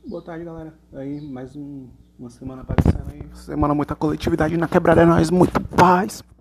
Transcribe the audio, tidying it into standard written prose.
Boa tarde, galera. Aí, mais uma semana aparecendo aí. Semana muita coletividade na quebrada, é nóis, muito paz.